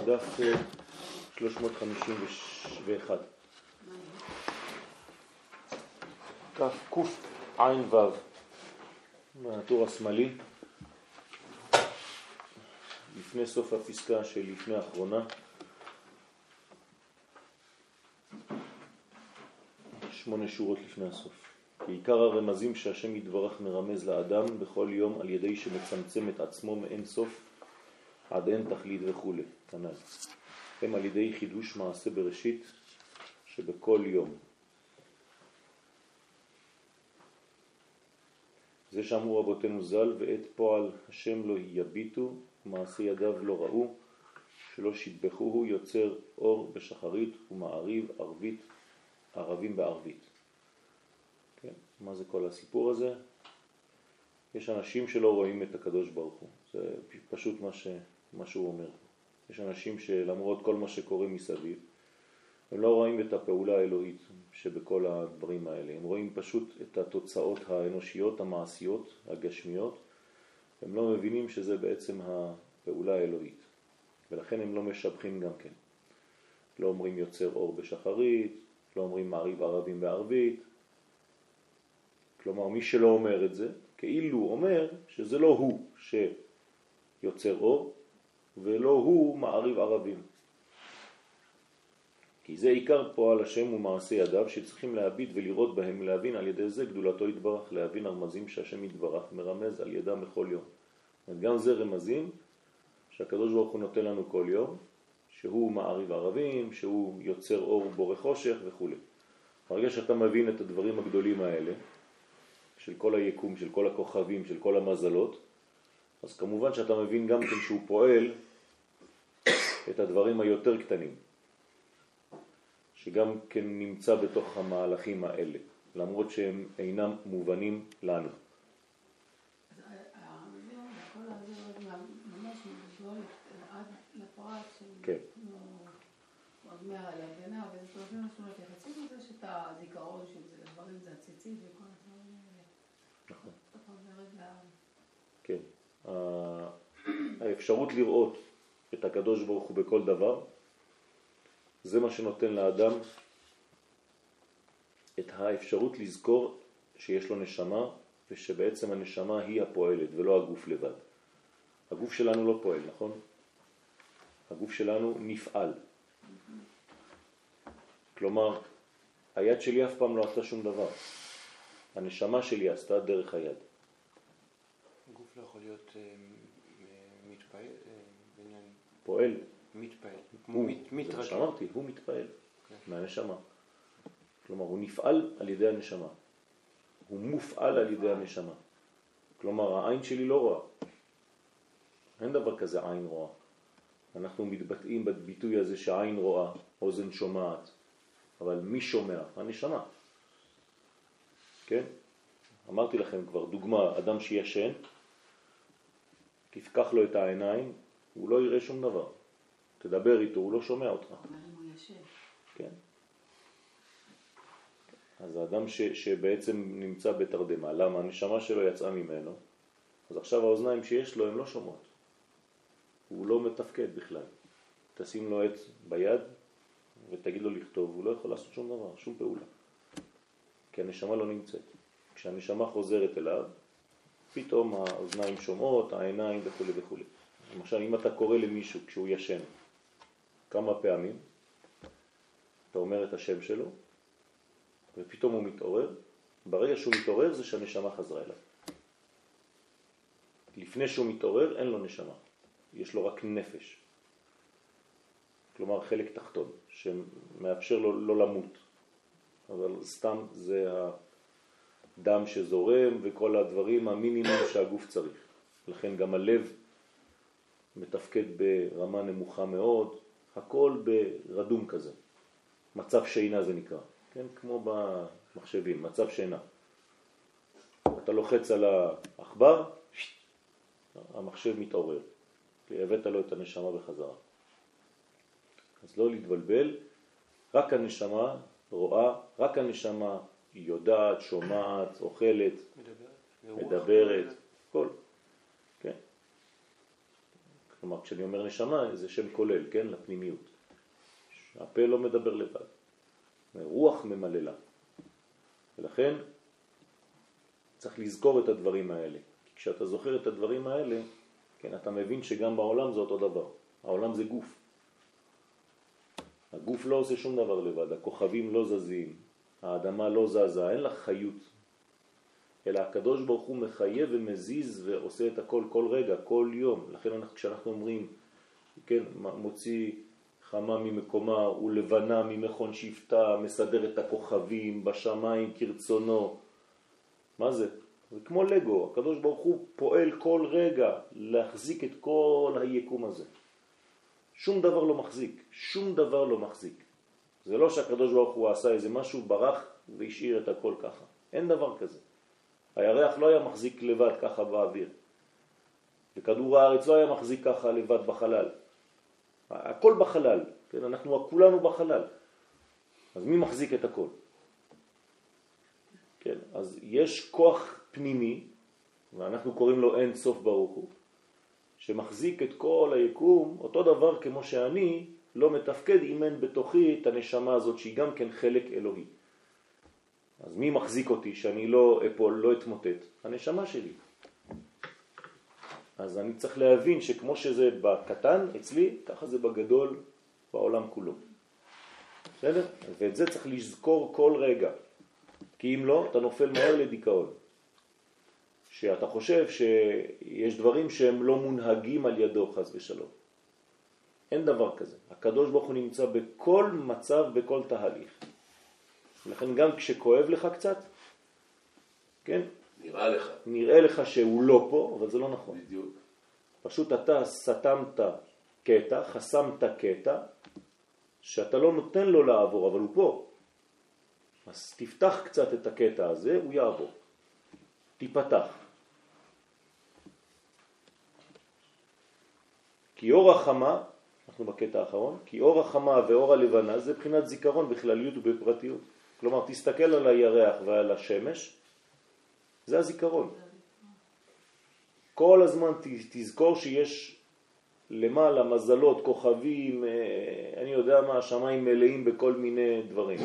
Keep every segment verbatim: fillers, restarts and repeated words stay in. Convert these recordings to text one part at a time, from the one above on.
דף שלוש מאות חמישים ואחת. כף קוף עין וו, מהטור השמאלי, לפני סוף הפסקה של לפני האחרונה, שמונה שורות לפני הסוף. בעיקר הרמזים שהשם יתברך מרמז לאדם בכל יום על ידי שמצמצם את עצמו מאין סוף עד אין תכלית וכו'. כנ"ל. הם על ידי חידוש מעשה בראשית שבכל יום. זה שאמרו רבותינו ז"ל, ואת פועל השם לא יביטו, מעשה ידיו לא ראו, שלא שיבחוהו, יוצר אור בשחרית ומעריב ערבית, ערבים בערבית. כן? מה זה כל הסיפור הזה? יש אנשים שלא רואים את הקדוש ברוך הוא. זה פשוט מה, ש... מה שהוא אומר. יש אנשים שלמרות כל מה שקורה מסביב, הם לא רואים את הפעולה האלוהית שבכל הדברים האלה. הם רואים פשוט את התוצאות האנושיות, המעשיות, הגשמיות. הם לא מבינים שזה בעצם הפעולה האלוהית. ולכן הם לא משבחים גם כן. לא אומרים יוצר אור בשחרית, לא אומרים מעריב ערבים בערבית. כלומר, מי שלא אומר את זה, כאילו אומר שזה לא הוא שיוצר אור, ולא הוא מעריב ערבים. כי זה עיקר פועל השם ומעשה ידיו שצריכים להביט ולראות בהם, להבין על ידי זה גדולתו יתברך, להבין הרמזים שהשם יתברך מרמז על ידם בכל יום. גם זה רמזים שהקדוש ברוך הוא נותן לנו כל יום, שהוא מעריב ערבים, שהוא יוצר אור בורא חושך וכו'. ברגע שאתה מבין את הדברים הגדולים האלה, של כל היקום, של כל הכוכבים, של כל המזלות, אז כמובן שאתה מבין גם כן שהוא פועל את הדברים היותר קטנים, שגם כן נמצא בתוך המהלכים האלה, למרות שהם אינם מובנים לנו. ממש מגדול עד לפרט של אומר על הגנה, וזה תורבים משמעות יחסית לזה שאתה הזיכרון של זה, לדברים זה הציצית וכל הדברים האלה. נכון. אתה חוזרת ל... כן. האפשרות לראות את הקדוש ברוך הוא בכל דבר, זה מה שנותן לאדם את האפשרות לזכור שיש לו נשמה, ושבעצם הנשמה היא הפועלת ולא הגוף לבד. הגוף שלנו לא פועל, נכון? הגוף שלנו נפעל. כלומר, היד שלי אף פעם לא עשתה שום דבר. הנשמה שלי עשתה דרך היד. הגוף לא יכול להיות מתפעל, בעניין... פועל. מתפעל. הוא, זה מה שאמרתי, הוא מתפעל מהנשמה. כלומר, הוא נפעל על ידי הנשמה. הוא מופעל על ידי הנשמה. כלומר, העין שלי לא רואה. אין דבר כזה עין רואה. אנחנו מתבטאים בביטוי הזה שהעין רואה, אוזן שומעת. אבל מי שומע? הנשמה. כן? אמרתי לכם כבר, דוגמה, אדם שישן, תפקח לו את העיניים, הוא לא יראה שום דבר. תדבר איתו, הוא לא שומע אותך. אבל אם הוא ישן. כן. אז האדם ש, שבעצם נמצא בתרדמה, למה? הנשמה שלו יצאה ממנו, אז עכשיו האוזניים שיש לו הן לא שומעות. הוא לא מתפקד בכלל. תשים לו עץ ביד ותגיד לו לכתוב, הוא לא יכול לעשות שום דבר, שום פעולה. כי הנשמה לא נמצאת. כשהנשמה חוזרת אליו, פתאום האוזניים שומעות, העיניים וכו' וכו'. למשל, אם אתה קורא למישהו כשהוא ישן, כמה פעמים, אתה אומר את השם שלו, ופתאום הוא מתעורר, ברגע שהוא מתעורר זה שהנשמה חזרה אליו. לפני שהוא מתעורר אין לו נשמה, יש לו רק נפש. כלומר חלק תחתון, שמאפשר לו לא למות. אבל סתם זה הדם שזורם וכל הדברים המינימום שהגוף צריך. לכן גם הלב מתפקד ברמה נמוכה מאוד, הכל ברדום כזה. מצב שינה זה נקרא, כן? כמו במחשבים, מצב שינה. אתה לוחץ על העכבר, המחשב מתעורר. הבאת לו את הנשמה בחזרה. אז לא להתבלבל, רק הנשמה רואה, רק הנשמה יודעת, שומעת, אוכלת, מדברת, מדברת, כל. כן. כלומר, כשאני אומר נשמה, זה שם כולל, כן? לפנימיות. הפה לא מדבר לבד. רוח ממללה. ולכן צריך לזכור את הדברים האלה. כי כשאתה זוכר את הדברים האלה, כן, אתה מבין שגם בעולם זה אותו דבר. העולם זה גוף. הגוף לא עושה שום דבר לבד, הכוכבים לא זזים, האדמה לא זזה, אין לה חיות. אלא הקדוש ברוך הוא מחייב ומזיז ועושה את הכל כל רגע, כל יום. לכן אנחנו, כשאנחנו אומרים, כן, מוציא חמה ממקומה ולבנה ממכון שבטה, מסדר את הכוכבים בשמיים כרצונו. מה זה? זה כמו לגו, הקדוש ברוך הוא פועל כל רגע להחזיק את כל היקום הזה. שום דבר לא מחזיק, שום דבר לא מחזיק. זה לא שהקדוש ברוך הוא עשה איזה משהו, ברח והשאיר את הכל ככה. אין דבר כזה. הירח לא היה מחזיק לבד ככה באוויר. וכדור הארץ לא היה מחזיק ככה לבד בחלל. הכל בחלל, כן? אנחנו כולנו בחלל. אז מי מחזיק את הכל? כן? אז יש כוח פנימי, ואנחנו קוראים לו אין סוף ברוך הוא, שמחזיק את כל היקום, אותו דבר כמו שאני לא מתפקד אם אין בתוכי את הנשמה הזאת שהיא גם כן חלק אלוהי. אז מי מחזיק אותי שאני לא אפול, לא אתמוטט? הנשמה שלי. אז אני צריך להבין שכמו שזה בקטן אצלי, ככה זה בגדול בעולם כולו. בסדר? ואת זה צריך לזכור כל רגע. כי אם לא, אתה נופל מהר לדיכאון. שאתה חושב שיש דברים שהם לא מונהגים על ידו חס ושלום. אין דבר כזה. הקדוש ברוך הוא נמצא בכל מצב, בכל תהליך. לכן גם כשכואב לך קצת, כן? נראה לך. נראה לך שהוא לא פה, אבל זה לא נכון. בדיוק. פשוט אתה סתמת קטע, חסמת קטע, שאתה לא נותן לו לעבור, אבל הוא פה. אז תפתח קצת את הקטע הזה, הוא יעבור. תיפתח. כי אור החמה, אנחנו בקטע האחרון, כי אור החמה ואור הלבנה זה בחינת זיכרון בכלליות ובפרטיות. כלומר, תסתכל על הירח ועל השמש, זה הזיכרון. כל הזמן תזכור שיש למעלה מזלות, כוכבים, אני יודע מה, השמיים מלאים בכל מיני דברים.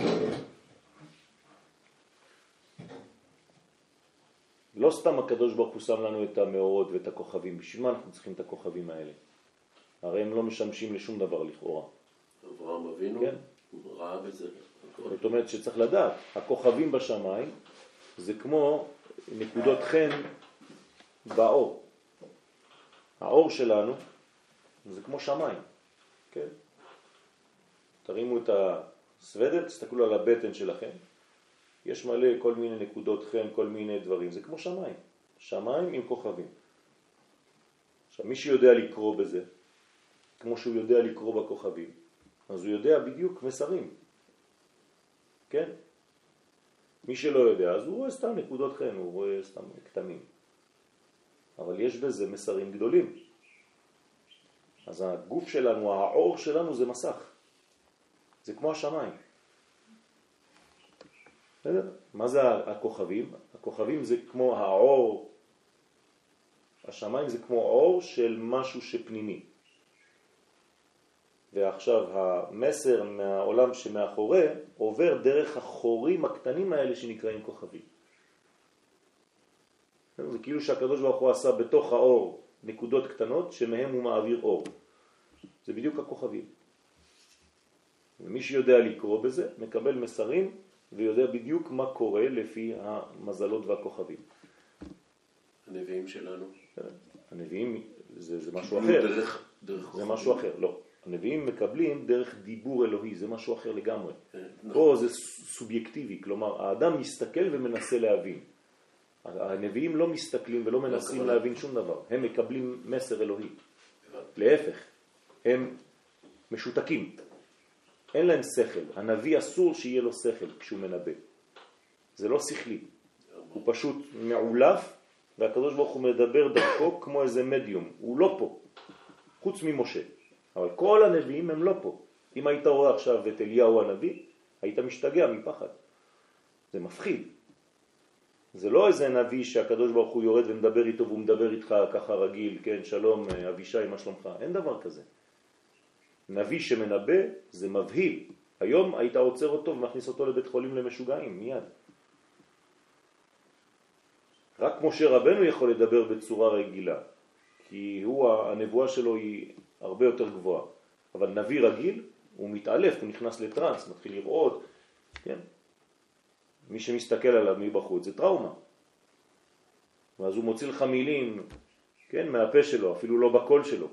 לא סתם הקדוש ברוך הוא שם לנו את המאורות ואת הכוכבים. בשביל מה אנחנו צריכים את הכוכבים האלה? הרי הם לא משמשים לשום דבר לכאורה. אברהם אבינו, כן? הוא ראה בזה. זאת אומרת שצריך לדעת, הכוכבים בשמיים זה כמו נקודות חן באור. האור שלנו זה כמו שמיים, כן? תרימו את הסוודר, תסתכלו על הבטן שלכם. יש מלא כל מיני נקודות חן, כל מיני דברים. זה כמו שמיים. שמיים עם כוכבים. עכשיו, מי שיודע לקרוא בזה, כמו שהוא יודע לקרוא בכוכבים, אז הוא יודע בדיוק מסרים. כן? מי שלא יודע, אז הוא רואה סתם נקודות חן, הוא רואה סתם קטנים. אבל יש בזה מסרים גדולים. אז הגוף שלנו, האור שלנו זה מסך. זה כמו השמיים. בסדר? מה זה הכוכבים? הכוכבים זה כמו האור, השמיים זה כמו אור של משהו שפנימי. ועכשיו המסר מהעולם שמאחורי עובר דרך החורים הקטנים האלה שנקראים כוכבים. זה כאילו שהקדוש ברוך הוא עשה בתוך האור נקודות קטנות שמהם הוא מעביר אור. זה בדיוק הכוכבים. ומי שיודע לקרוא בזה מקבל מסרים ויודע בדיוק מה קורה לפי המזלות והכוכבים. הנביאים שלנו. הנביאים זה, זה משהו אחר. דרך, דרך זה משהו אחר, לא. הנביאים מקבלים דרך דיבור אלוהי, זה משהו אחר לגמרי. כן, פה זה סובייקטיבי, כלומר האדם מסתכל ומנסה להבין. הנביאים לא מסתכלים ולא מנסים להבין שום דבר. הם מקבלים מסר אלוהי. להפך, הם משותקים. אין להם שכל. הנביא אסור שיהיה לו שכל כשהוא מנבא. זה לא שכלי. הוא פשוט מעולף, והקדוש ברוך הוא מדבר דרכו כמו איזה מדיום. הוא לא פה, חוץ ממשה. אבל כל הנביאים הם לא פה. אם היית רואה עכשיו את אליהו הנביא, היית משתגע מפחד. זה מפחיד. זה לא איזה נביא שהקדוש ברוך הוא יורד ומדבר איתו והוא מדבר איתך ככה רגיל, כן, שלום אבישי, מה שלומך? אין דבר כזה. נביא שמנבא זה מבהיל. היום היית עוצר אותו ומכניס אותו לבית חולים למשוגעים, מיד. רק משה רבנו יכול לדבר בצורה רגילה, כי הוא, הנבואה שלו היא הרבה יותר גבוהה. אבל נביא רגיל, הוא מתעלף, הוא נכנס לטרנס, מתחיל לראות, כן? מי שמסתכל עליו מבחוץ זה טראומה. ואז הוא מוציא לך מילים, כן, מהפה שלו, אפילו לא בקול שלו.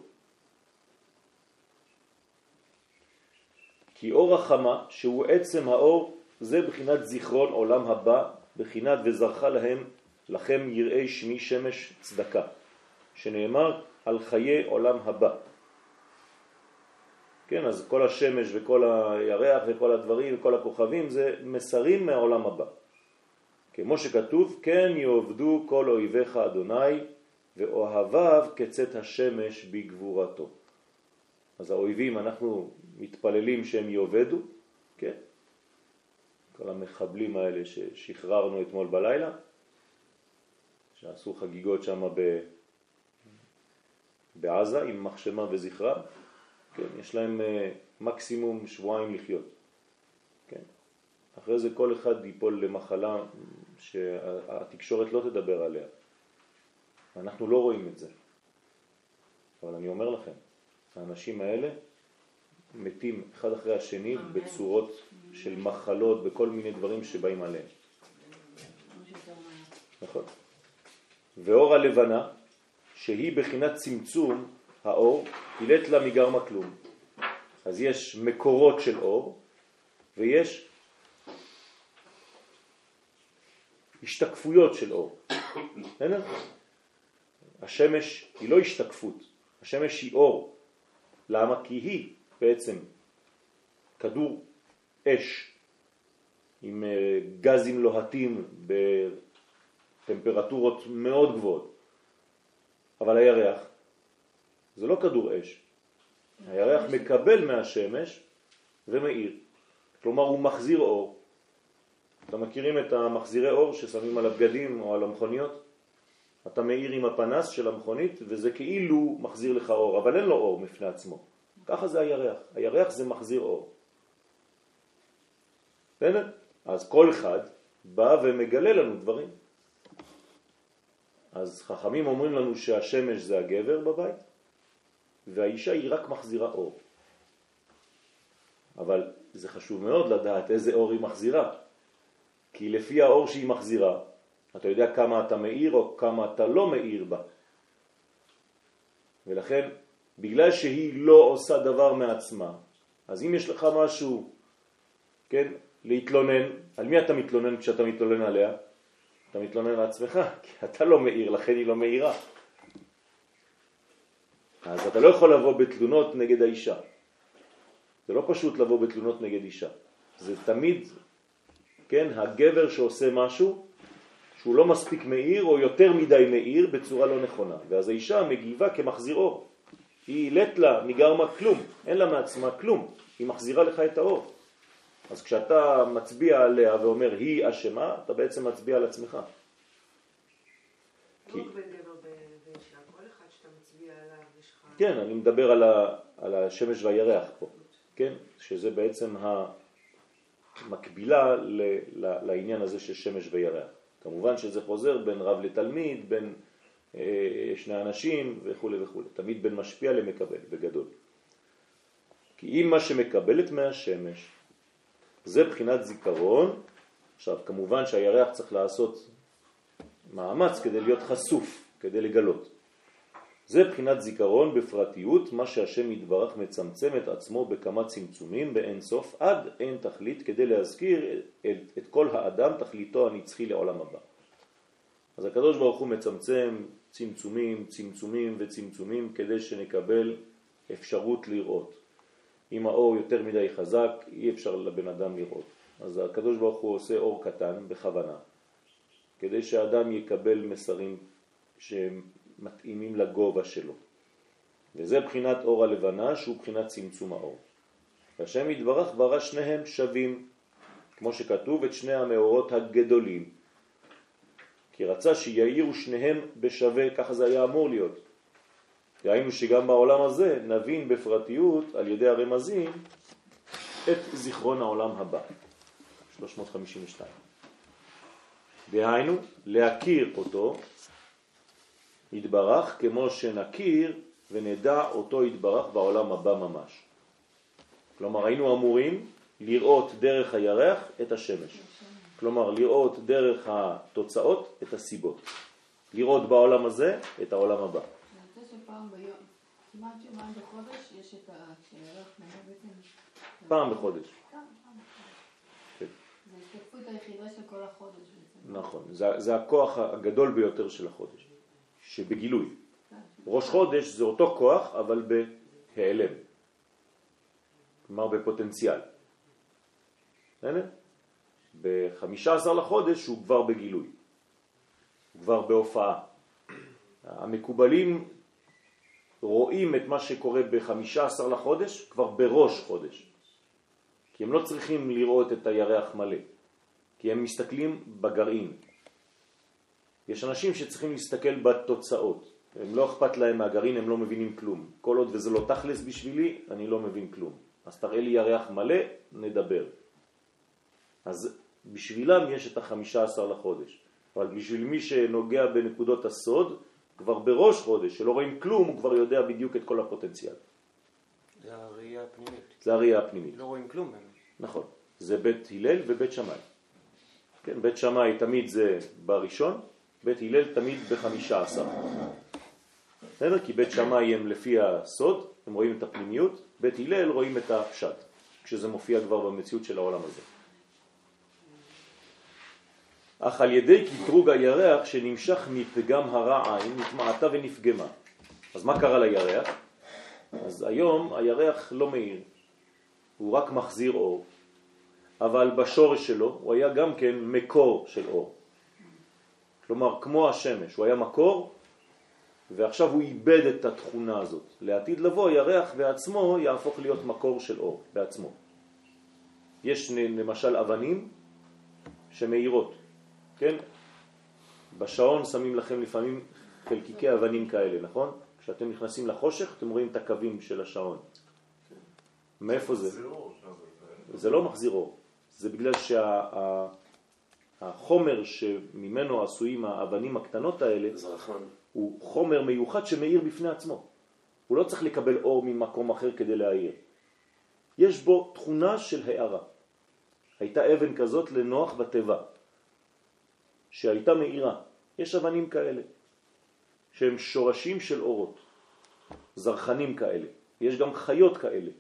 כי אור החמה, שהוא עצם האור, זה בחינת זיכרון עולם הבא, בחינת וזרחה להם, לכם יראי שמי שמש צדקה, שנאמר על חיי עולם הבא. כן, אז כל השמש וכל הירח וכל הדברים וכל הכוכבים זה מסרים מהעולם הבא. כמו שכתוב, כן יעבדו כל אויביך אדוני ואוהביו כצאת השמש בגבורתו. אז האויבים אנחנו מתפללים שהם יעבדו, כן? כל המחבלים האלה ששחררנו אתמול בלילה, שעשו חגיגות שם ב... בעזה עם מחשמה וזכרה, כן, יש להם מקסימום שבועיים לחיות. כן. אחרי זה כל אחד ייפול למחלה שהתקשורת לא תדבר עליה. אנחנו לא רואים את זה. אבל אני אומר לכם, האנשים האלה מתים אחד אחרי השני בצורות של מחלות, בכל מיני דברים שבאים עליהם. נכון. ואור הלבנה, שהיא בחינת צמצום האור, הילת לה מגרמה כלום. אז יש מקורות של אור, ויש השתקפויות של אור. השמש היא לא השתקפות, השמש היא אור. למה? כי היא בעצם כדור אש עם גזים לוהטים בטמפרטורות מאוד גבוהות. אבל הירח זה לא כדור אש. הירח מקבל מהשמש ומאיר. כלומר הוא מחזיר אור. אתם מכירים את המחזירי אור ששמים על הבגדים או על המכוניות? אתה מאיר עם הפנס של המכונית וזה כאילו מחזיר לך אור, אבל אין לו אור מפני עצמו. ככה זה הירח. הירח זה מחזיר אור. בסדר? אז כל אחד בא ומגלה לנו דברים. אז חכמים אומרים לנו שהשמש זה הגבר בבית, והאישה היא רק מחזירה אור. אבל זה חשוב מאוד לדעת איזה אור היא מחזירה. כי לפי האור שהיא מחזירה, אתה יודע כמה אתה מאיר או כמה אתה לא מאיר בה. ולכן, בגלל שהיא לא עושה דבר מעצמה, אז אם יש לך משהו, כן, להתלונן, על מי אתה מתלונן כשאתה מתלונן עליה? אתה מתלונן על עצמך, כי אתה לא מאיר, לכן היא לא מאירה. אז אתה לא יכול לבוא בתלונות נגד האישה. זה לא פשוט לבוא בתלונות נגד אישה. זה תמיד, כן, הגבר שעושה משהו שהוא לא מספיק מאיר או יותר מדי מאיר בצורה לא נכונה. ואז האישה מגיבה כמחזיר אור. היא הילת לה מגרמה כלום, אין לה מעצמה כלום. היא מחזירה לך את האור. אז כשאתה מצביע עליה ואומר היא אשמה, אתה בעצם מצביע על עצמך. לא בין גבר ואישה, כל אחד שאתה מצביע עליו יש לך... כן, אני מדבר על, ה, על השמש והירח פה, כן? שזה בעצם המקבילה ל, ל, לעניין הזה של שמש וירח. כמובן שזה חוזר בין רב לתלמיד, בין אה, שני אנשים וכו' וכו'. תמיד בין משפיע למקבל, בגדול. כי אם מה שמקבלת מהשמש, זה בחינת זיכרון. עכשיו, כמובן שהירח צריך לעשות מאמץ כדי להיות חשוף, כדי לגלות. זה בחינת זיכרון בפרטיות, מה שהשם יתברך מצמצם את עצמו בכמה צמצומים באין סוף, עד אין תכלית, כדי להזכיר את, את כל האדם תכליתו הנצחי לעולם הבא. אז הקדוש ברוך הוא מצמצם צמצומים, צמצומים וצמצומים, כדי שנקבל אפשרות לראות. אם האור יותר מדי חזק, אי אפשר לבן אדם לראות. אז הקדוש ברוך הוא עושה אור קטן בכוונה, כדי שהאדם יקבל מסרים שמתאימים לגובה שלו. וזה בחינת אור הלבנה, שהוא בחינת צמצום האור. והשם יתברך ברא שניהם שווים, כמו שכתוב את שני המאורות הגדולים. כי רצה שיעירו שניהם בשווה, ככה זה היה אמור להיות. ראינו שגם בעולם הזה נבין בפרטיות על ידי הרמזים את זיכרון העולם הבא. שלוש מאות חמישים ושתיים. דהיינו, להכיר אותו יתברך כמו שנכיר ונדע אותו יתברך בעולם הבא ממש. כלומר, היינו אמורים לראות דרך הירח את השמש. כלומר, לראות דרך התוצאות את הסיבות. לראות בעולם הזה את העולם הבא. אני רוצה שפעם ביום, כמעט יומיים בחודש, יש את הירח נראה בעצם... פעם בחודש. פעם, פעם בחודש. כן. זה ההשתתפות היחידה של כל החודש בעצם. נכון. זה, זה הכוח הגדול ביותר של החודש. שבגילוי. ראש חודש זה אותו כוח, אבל בהיעלם. כלומר, בפוטנציאל. ב-חמישה עשר לחודש הוא כבר בגילוי. הוא כבר בהופעה. המקובלים רואים את מה שקורה ב-חמישה עשר לחודש כבר בראש חודש. כי הם לא צריכים לראות את הירח מלא. כי הם מסתכלים בגרעין. יש אנשים שצריכים להסתכל בתוצאות. הם לא אכפת להם מהגרעין, הם לא מבינים כלום. כל עוד וזה לא תכלס בשבילי, אני לא מבין כלום. אז תראה לי ירח מלא, נדבר. אז בשבילם יש את החמישה עשר לחודש. אבל בשביל מי שנוגע בנקודות הסוד, כבר בראש חודש, שלא רואים כלום, הוא כבר יודע בדיוק את כל הפוטנציאל. זה הראייה הפנימית. זה הראייה הפנימית. לא רואים כלום באמת. נכון. זה בית הלל ובית שמאי. כן, בית שמאי תמיד זה בראשון, בית הלל תמיד בחמישה עשר. בסדר? כי בית שמאי הם לפי הסוד, הם רואים את הפנימיות, בית הלל רואים את הפשט, כשזה מופיע כבר במציאות של העולם הזה. אך על ידי קטרוג הירח שנמשך מפגם הרע עין, נתמעתה ונפגמה. אז מה קרה לירח? אז היום הירח לא מאיר, הוא רק מחזיר אור, אבל בשורש שלו הוא היה גם כן מקור של אור. כלומר, כמו השמש, הוא היה מקור, ועכשיו הוא איבד את התכונה הזאת. לעתיד לבוא, הירח בעצמו יהפוך להיות מקור של אור, בעצמו. יש למשל אבנים שמאירות, כן? בשעון שמים לכם לפעמים חלקיקי אבנים כאלה, נכון? כשאתם נכנסים לחושך, אתם רואים את הקווים של השעון. מאיפה זה? זה לא מחזיר אור. זה בגלל שהחומר שממנו עשויים האבנים הקטנות האלה, הוא חומר מיוחד שמאיר בפני עצמו. הוא לא צריך לקבל אור ממקום אחר כדי להאיר. יש בו תכונה של הערה. הייתה אבן כזאת לנוח בטבע, שהייתה מאירה. יש אבנים כאלה, שהם שורשים של אורות, זרחנים כאלה. יש גם חיות כאלה.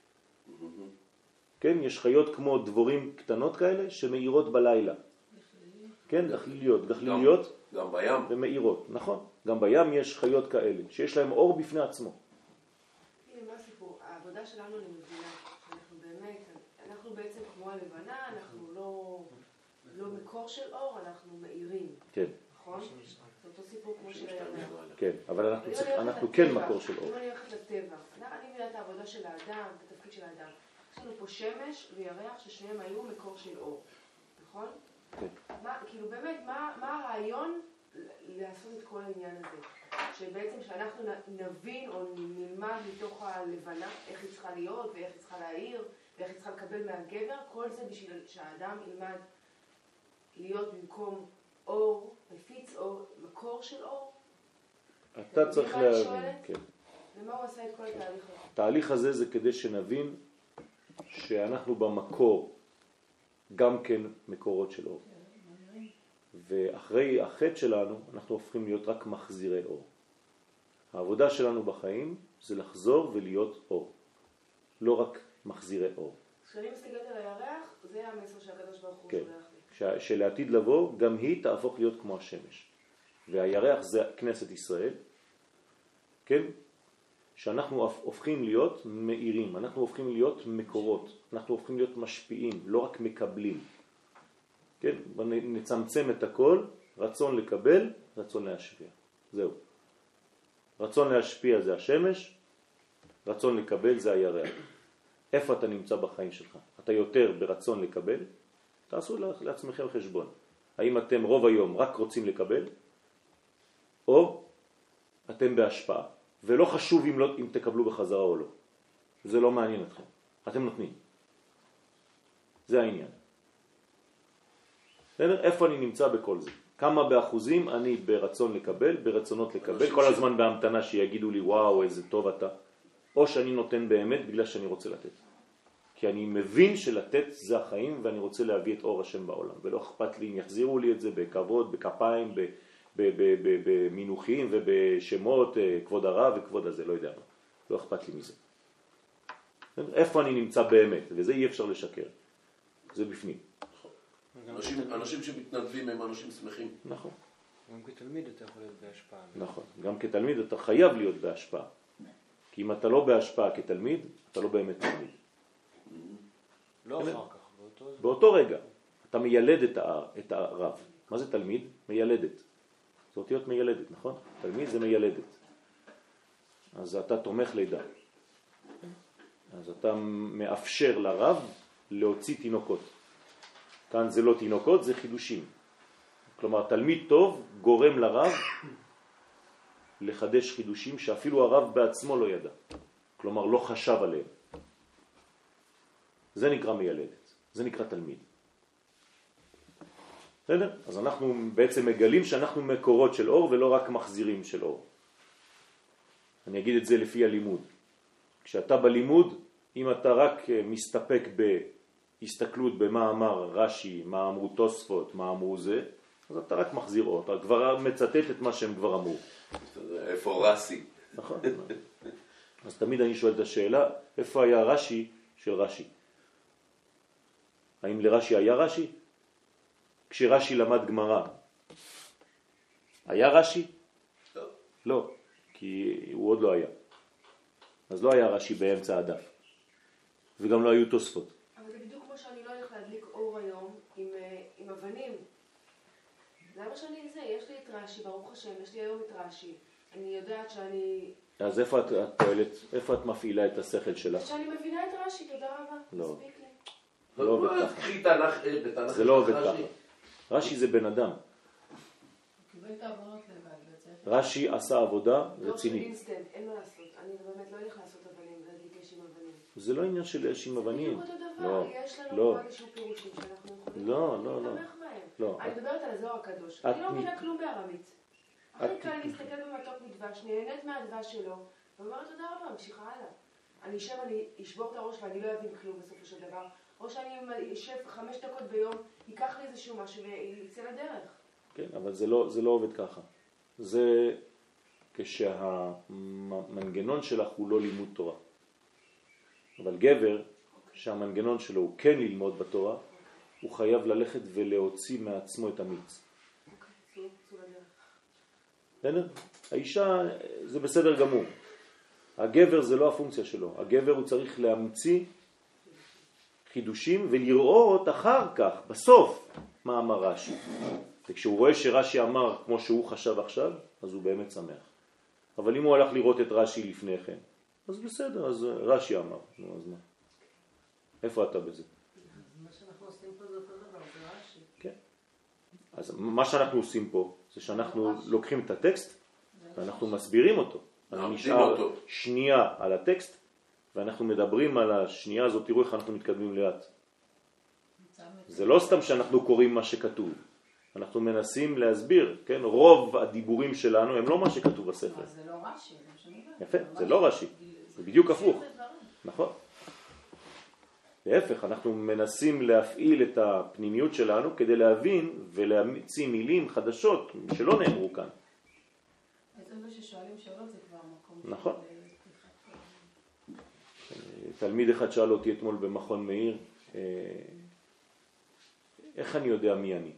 כן, יש חיות כמו דבורים קטנות כאלה שמאירות בלילה. כן, גחליליות, גחליליות גם בים. ומאירות, נכון. גם בים יש חיות כאלה, שיש להם אור בפני עצמו. הנה, מה הסיפור? העבודה שלנו אני מבינה, שאנחנו באמת, אנחנו בעצם כמו הלבנה, אנחנו לא, לא מקור של אור, אנחנו מאירים. כן. נכון? זה אותו סיפור כמו של הירח. כן, אבל אנחנו, צריך, אנחנו כן מקור של אור. אם אני הולכת לטבע, אני מבינה את העבודה של האדם, את התפקיד של האדם. יש לנו פה שמש וירח ששניהם היו מקור של אור, נכון? כן. מה, כאילו באמת, מה, מה הרעיון לעשות את כל העניין הזה? שבעצם שאנחנו נבין או נלמד מתוך הלבנה איך היא צריכה להיות ואיך היא צריכה להעיר ואיך היא צריכה לקבל מהגבר, כל זה בשביל שהאדם ילמד להיות במקום אור, מפיץ אור, מקור של אור. אתה צריך להבין, כן. ומה הוא עשה את כל התהליך הזה? התהליך הזה זה כדי שנבין שאנחנו במקור גם כן מקורות של אור. ואחרי החטא שלנו אנחנו הופכים להיות רק מחזירי אור. העבודה שלנו בחיים זה לחזור ולהיות אור, לא רק מחזירי אור. כשאני מסתכלת על הירח, זה המסר שהקדוש ברוך הוא כן. שולח לי. שלעתיד לבוא גם היא תהפוך להיות כמו השמש. והירח זה כנסת ישראל, כן? שאנחנו הופכים להיות מאירים, אנחנו הופכים להיות מקורות, אנחנו הופכים להיות משפיעים, לא רק מקבלים. כן? נצמצם את הכל, רצון לקבל, רצון להשפיע. זהו. רצון להשפיע זה השמש, רצון לקבל זה הירח. איפה אתה נמצא בחיים שלך? אתה יותר ברצון לקבל? תעשו לעצמכם חשבון. האם אתם רוב היום רק רוצים לקבל, או אתם בהשפעה, ולא חשוב אם, לא, אם תקבלו בחזרה או לא. זה לא מעניין אתכם. אתם נותנים. זה העניין. איפה אני נמצא בכל זה? כמה באחוזים אני ברצון לקבל, ברצונות לקבל, כל הזמן בהמתנה שיגידו לי וואו איזה טוב אתה, או שאני נותן באמת בגלל שאני רוצה לתת. כי אני מבין שלתת זה החיים ואני רוצה להביא את אור השם בעולם, ולא אכפת לי אם יחזירו לי את זה בכבוד, בכפיים, במינוחים ובשמות, כבוד הרב וכבוד הזה, לא יודע מה. לא אכפת לי מזה. איפה אני נמצא באמת, וזה אי אפשר לשקר. זה בפנים. אנשים, אנשים שמתנדבים הם אנשים שמחים. נכון. גם כתלמיד אתה יכול להיות בהשפעה. נכון. גם כתלמיד אתה חייב להיות בהשפעה. כי אם אתה לא בהשפעה כתלמיד, אתה לא באמת תלמיד. לא אחר כך, באותו... באותו רגע. אתה מיילד את, ה... את הרב. מה זה תלמיד? מיילדת. זה אותיות מיילדת, נכון? תלמיד זה מיילדת. אז אתה תומך לידה. אז אתה מאפשר לרב להוציא תינוקות. כאן זה לא תינוקות, זה חידושים. כלומר, תלמיד טוב גורם לרב לחדש חידושים שאפילו הרב בעצמו לא ידע. כלומר, לא חשב עליהם. זה נקרא מיילדת. זה נקרא תלמיד. בסדר? אז אנחנו בעצם מגלים שאנחנו מקורות של אור ולא רק מחזירים של אור. אני אגיד את זה לפי הלימוד. כשאתה בלימוד, אם אתה רק מסתפק בהסתכלות במה אמר רש"י, מה אמרו תוספות, מה אמרו זה, אז אתה רק מחזיר אור. אתה כבר מצטט את מה שהם כבר אמרו. איפה רש"י? נכון. אז תמיד אני שואל את השאלה, איפה היה רש"י של רש"י? האם לרש"י היה רש"י? כשרש"י למד גמרא, היה רש"י? לא. לא, כי הוא עוד לא היה. אז לא היה רש"י באמצע הדף. וגם לא היו תוספות. אבל זה בדיוק כמו שאני לא הולך להדליק אור היום עם, עם אבנים. למה שאני זה? יש לי את רש"י, ברוך השם, יש לי היום את רש"י. אני יודעת שאני... אז איפה את, את פועלת, איפה את מפעילה את השכל שלה? שאני מבינה את רש"י, תודה רבה. לא. מספיק לי. לא עובד ככה. קחי תנ"ך, בתנ"ך. זה לא עובד ככה. רש"י זה בן אדם. קיבל את העבודות לבד. רש"י עשה עבודה לא של רצינית. אינסטנט, אין מה לעשות. אני באמת לא הולך לעשות אבנים, להדליק אש עם אבנים. זה לא עניין של אש עם אבנים. זה בדיוק אותו לא, דבר. יש לנו לא. פה איזשהו פירושים שאנחנו יכולים לא, לא, לא. להתמך בהם. לא. אני מדברת על הזוהר הקדוש. את אני לא מ- מבינה כלום בארמית. את- הכי קל להסתכל במתוק מדבש, נהנית מהדבש שלו, ואומרת תודה רבה, ממשיכה הלאה. אני אשב, אני אשבור את הראש ואני לא אבין כלום בסופו של דבר. או שאני אשב חמש דקות ביום, ייקח לי איזשהו משהו ויצא לדרך. כן, אבל זה לא, זה לא עובד ככה. זה כשהמנגנון שלך הוא לא לימוד תורה. אבל גבר, שהמנגנון שלו הוא כן ללמוד בתורה, הוא חייב ללכת ולהוציא מעצמו את המיץ. צאו לדרך. בסדר? האישה זה בסדר גמור. הגבר זה לא הפונקציה שלו. הגבר הוא צריך להמציא חידושים ולראות אחר כך, בסוף, מה אמר רש"י. וכשהוא רואה שרש"י אמר כמו שהוא חשב עכשיו, אז הוא באמת שמח. אבל אם הוא הלך לראות את רש"י לפני כן, אז בסדר, אז רש"י אמר. נו, אז מה? איפה אתה בזה? מה שאנחנו עושים פה זה אותו דבר, זה רש"י. כן. אז מה שאנחנו עושים פה, זה שאנחנו לוקחים את הטקסט, ואנחנו מסבירים אותו. אני נשאר שנייה על הטקסט, ואנחנו מדברים על השנייה הזאת, תראו איך אנחנו מתקדמים לאט. זה לא סתם שאנחנו קוראים מה שכתוב. אנחנו מנסים להסביר, כן? רוב הדיבורים שלנו הם לא מה שכתוב בספר. זה לא רש"י, זה מה שאני יודעת. יפה, זה לא רש"י. זה בדיוק הפוך. נכון. להפך, אנחנו מנסים להפעיל את הפנימיות שלנו כדי להבין ולהמציא מילים חדשות שלא נאמרו כאן. בעצם זה ששואלים שאלות זה כבר מקום... נכון. תלמיד אחד שאל אותי אתמול במכון מאיר, איך אני יודע מי אני?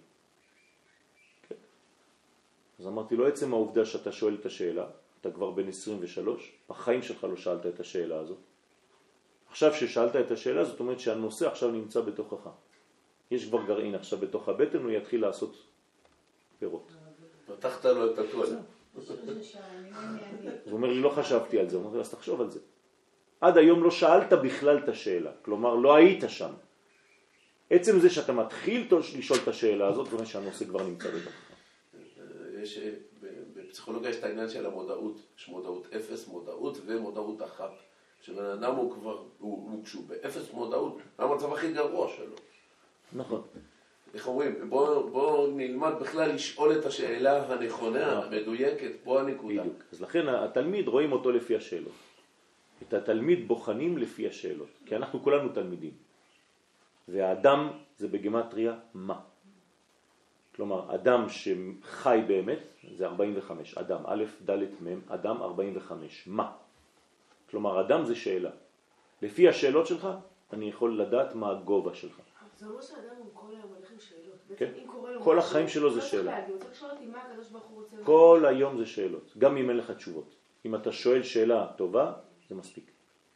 אז אמרתי לו, עצם העובדה שאתה שואל את השאלה, אתה כבר בן עשרים ושלוש, בחיים שלך לא שאלת את השאלה הזאת. עכשיו ששאלת את השאלה, זאת אומרת שהנושא עכשיו נמצא בתוכך. יש כבר גרעין עכשיו בתוך הבטן, הוא יתחיל לעשות פירות. פתחת לו את הכל. הוא אומר לי, לא חשבתי על זה. הוא אומר לי, אז תחשוב על זה. עד היום לא שאלת בכלל את השאלה, כלומר לא היית שם. עצם זה שאתה מתחיל לשאול את השאלה הזאת, זאת אומרת שהנושא כבר נמצא בתוך. יש, בפסיכולוגיה יש את העניין של המודעות, יש מודעות אפס, מודעות ומודעות אחת. שבן אדם הוא כבר, הוא, הוא כשהוא באפס מודעות, המצב הכי גרוע שלו. נכון. איך אומרים, בוא, בוא נלמד בכלל לשאול את השאלה הנכונה, המדויקת, פה הנקודה. בדיוק. אז לכן התלמיד רואים אותו לפי השאלות. את התלמיד בוחנים לפי השאלות, כי אנחנו כולנו תלמידים. והאדם זה בגמטריה מה. כלומר, אדם שחי באמת זה ארבעים וחמש. אדם, א', ד', מ', אדם ארבעים וחמש. מה? כלומר, אדם זה שאלה. לפי השאלות שלך, אני יכול לדעת מה הגובה שלך. זה אומר שאדם הוא כל היום הולך עם שאלות. כן? כל החיים שלו זה שאלה. אני רוצה לשאול אותי מה הקדוש ברוך הוא רוצה. כל היום זה שאלות, גם אם אין לך תשובות. אם אתה שואל שאלה טובה, זה מספיק.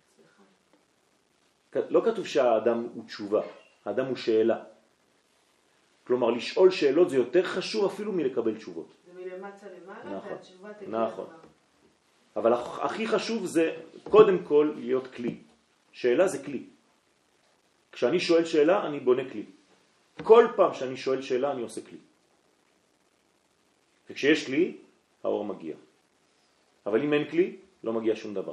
לא כתוב שהאדם הוא תשובה, האדם הוא שאלה. כלומר, לשאול שאלות זה יותר חשוב אפילו מלקבל תשובות. זה מלמטה למעלה, נכון, והתשובה תגיע נכון. כבר. אבל הכי חשוב זה קודם כל להיות כלי. שאלה זה כלי. כשאני שואל שאלה, אני בונה כלי. כל פעם שאני שואל שאלה, אני עושה כלי. וכשיש כלי, האור מגיע. אבל אם אין כלי, לא מגיע שום דבר.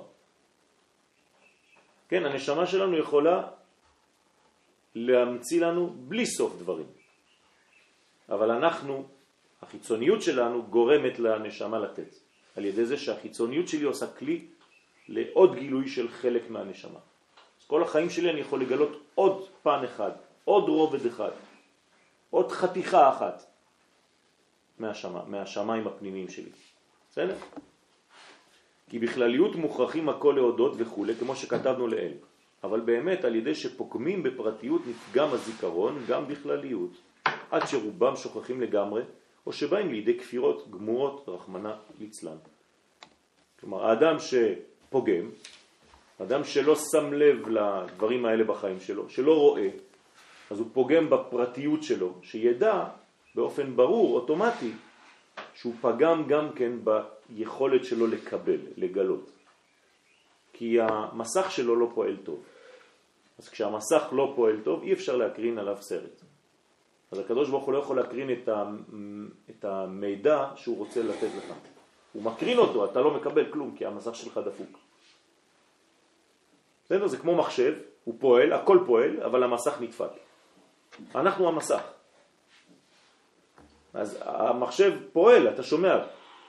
כן, הנשמה שלנו יכולה להמציא לנו בלי סוף דברים. אבל אנחנו, החיצוניות שלנו גורמת לנשמה לתת. על ידי זה שהחיצוניות שלי עושה כלי לעוד גילוי של חלק מהנשמה. אז כל החיים שלי אני יכול לגלות עוד פן אחד, עוד רובד אחד, עוד חתיכה אחת מהשמה, מהשמיים הפנימיים שלי. בסדר? כי בכלליות מוכרחים הכל להודות וכו', כמו שכתבנו לאל. אבל באמת על ידי שפוקמים בפרטיות נפגם הזיכרון גם בכלליות, עד שרובם שוכחים לגמרי, או שבאים לידי כפירות גמורות רחמנה ליצלן. כלומר, האדם שפוגם, אדם שלא שם לב לדברים האלה בחיים שלו, שלא רואה, אז הוא פוגם בפרטיות שלו, שידע באופן ברור, אוטומטי, שהוא פגם גם כן ביכולת שלו לקבל, לגלות. כי המסך שלו לא פועל טוב. אז כשהמסך לא פועל טוב, אי אפשר להקרין עליו סרט. אז הקדוש ברוך הוא לא יכול להקרין את, ה, את המידע שהוא רוצה לתת לך. הוא מקרין אותו, אתה לא מקבל כלום, כי המסך שלך דפוק. בסדר? זה כמו מחשב, הוא פועל, הכל פועל, אבל המסך נדפק. אנחנו המסך. אז המחשב פועל, אתה שומע.